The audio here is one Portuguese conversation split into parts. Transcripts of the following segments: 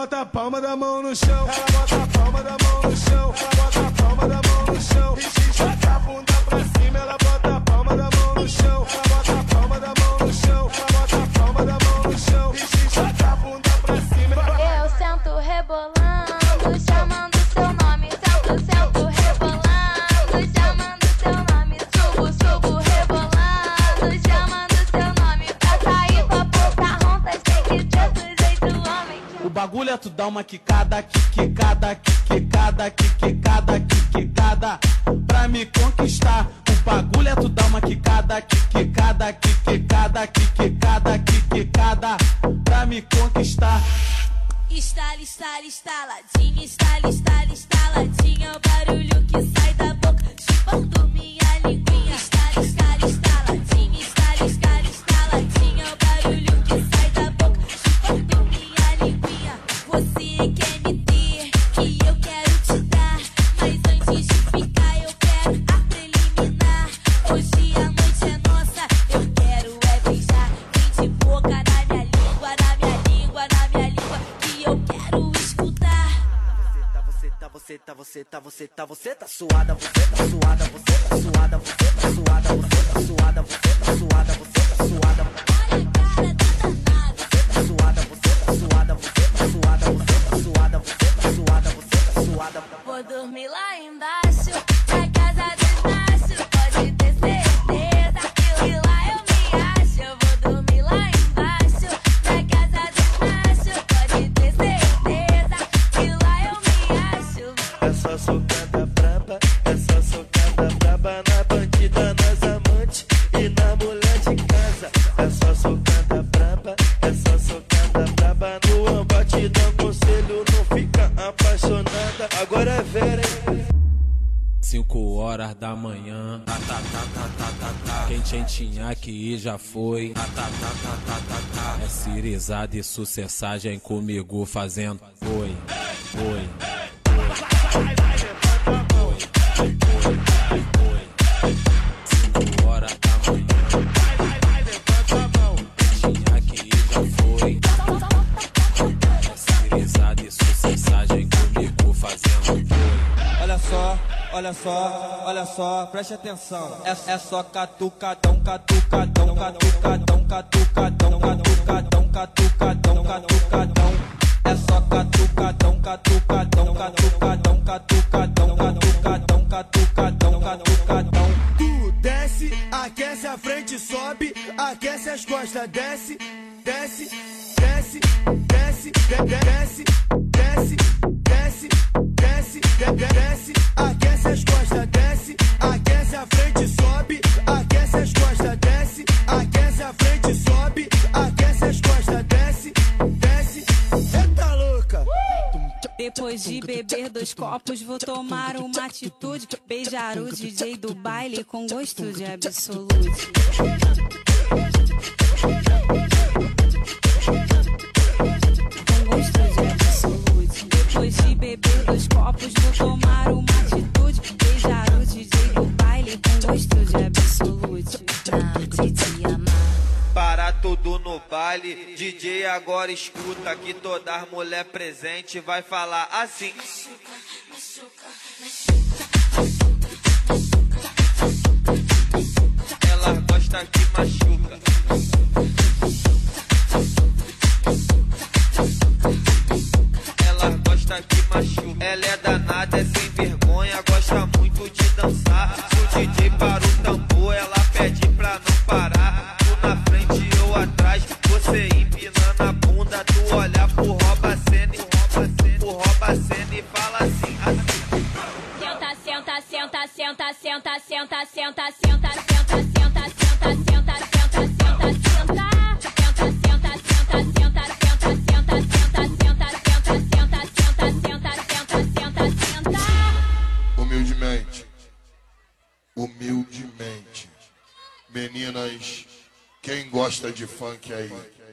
bota a palma da mão no chão, ela bota a palma da mão no chão, ela bota a palma da mão no chão, e joga a bunda pra cima, ela bota a palma da mão no chão, ela bota a palma da mão no chão, ela bota a palma da mão no chão, e joga a bunda pra cima. Eu sento rebolando, chamando seu nome, sento rebolando, chamando seu nome, subo rebolando, chamando seu nome, pra sair com a boca ronta, tem que ter do jeito homem. O bagulho é tu dar uma quicada, quicada, quicada, quicada, quicada, pra me conquistar. O bagulho é tu dar uma quicada, quicada, quicada, quicada, quicada, pra me conquistar. Estala, estala, estaladinha, estala, estala, estaladinha, o barulho que sai da boca, chupando minha linguinha. Estala, estala, estaladinha, estala, estala, estaladinha, o barulho que sai da boca, chupando minha linguinha. Você quer me ter, que eu quero te dar, mas antes de ficar eu quero a preliminar. Hoje a noite é nossa, eu quero é beijar, vem de boca na minha língua, na minha língua, na minha língua, que eu quero escutar. Você tá suada, você tá suada, você tá suada, você tá suada, você tá suada, você tá suada, você tá suada. Olha a cara da danada. Você tá suada, você tá suada, você tá suada, você tá suada, você tá suada, você tá suada. Vou dormir lá embaixo, na casa dos machos, pode ter certeza que lá eu me acho. Eu vou dormir lá embaixo, na casa dos machos, pode ter certeza que lá eu me acho. Essa socada braba, essa socada braba na bandida, nas amantes e na mulher de casa. Essa socada braba, essa socada braba no embate, dá conselho, não fica apaixonada. Agora é Vera, hein? 5 horas da manhã, quem tinha que ir já foi. É cirizada e sucessagem comigo fazendo oi, oi. 5 horas da manhã, quem tinha que ir já foi. É cirizada e sucessagem comigo fazendo oi. Olha só, olha só, olha só, preste atenção. É só catucadão, catucadão, catucadão, catucadão, catucadão, catucadão, catucadão. É só catucadão, catucadão, catucadão, catucadão, catucadão, catucadão, catucadão. Tu desce, aquece a frente, sobe, aquece as costas, desce, desce, desce, desce, desce, desce, desce, desce, desce, aquece as costas, desce, aquece a frente, sobe, aquece as costas, desce, aquece a frente, sobe, aquece as costas, desce, desce. Eita louca! Depois de beber 2 copos, vou tomar uma atitude, beijar o DJ do baile com gosto de absolute. Com gosto de absolute. Depois de beber 2 copos, vou tomar uma atitude, beijar o DJ do baile com gosto de absolute. Pra te amar. Para tudo no baile, DJ agora escuta que toda as mulher presente vai falar assim. Ela gosta que machuca. Ela gosta que machuca. Ela é danada, é sem vergonha, gosta muito de dançar. Se o DJ para o tambor, ela pede pra não parar. Tu na frente, eu atrás, você empinando a bunda. Tu olha pro rouba-cena e fala assim, assim. Senta, senta, senta, senta, senta, senta, senta, senta, senta, senta, senta, senta, senta, senta. Humildemente, humildemente, meninas, quem gosta de funk aí?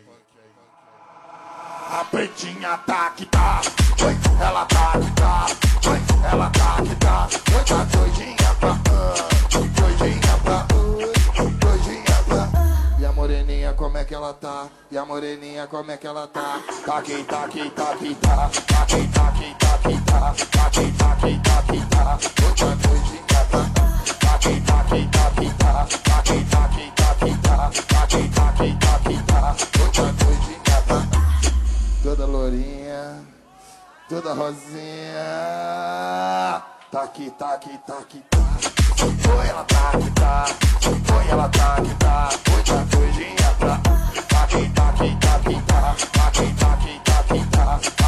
A pretinha tá que tá, oi, ela tá que tá, oi, ela tá que tá, oi, tá doidinha pra, doidinha pra, doidinha pra. E a moreninha como é que que ela tá? E a moreninha, como é que ela tá? Taqui, taqui, taqui, tá. Taqui, taqui, taqui, tá. Taqui, taqui, taqui, tá. Outra doidinha, tá. Taqui, taqui, taqui, tá. Taqui, taqui, taqui, tá. Taqui, taqui, taqui, tá. Outra doidinha, tá. Toda lourinha, toda rosinha. Taqui, taqui, taqui, tá. Foi ela taqui, tá. Foi ela taqui, tá. Outra doidinha, tá. Taqui, taqui, taqui, tá. Taqui, taqui, taqui, tá.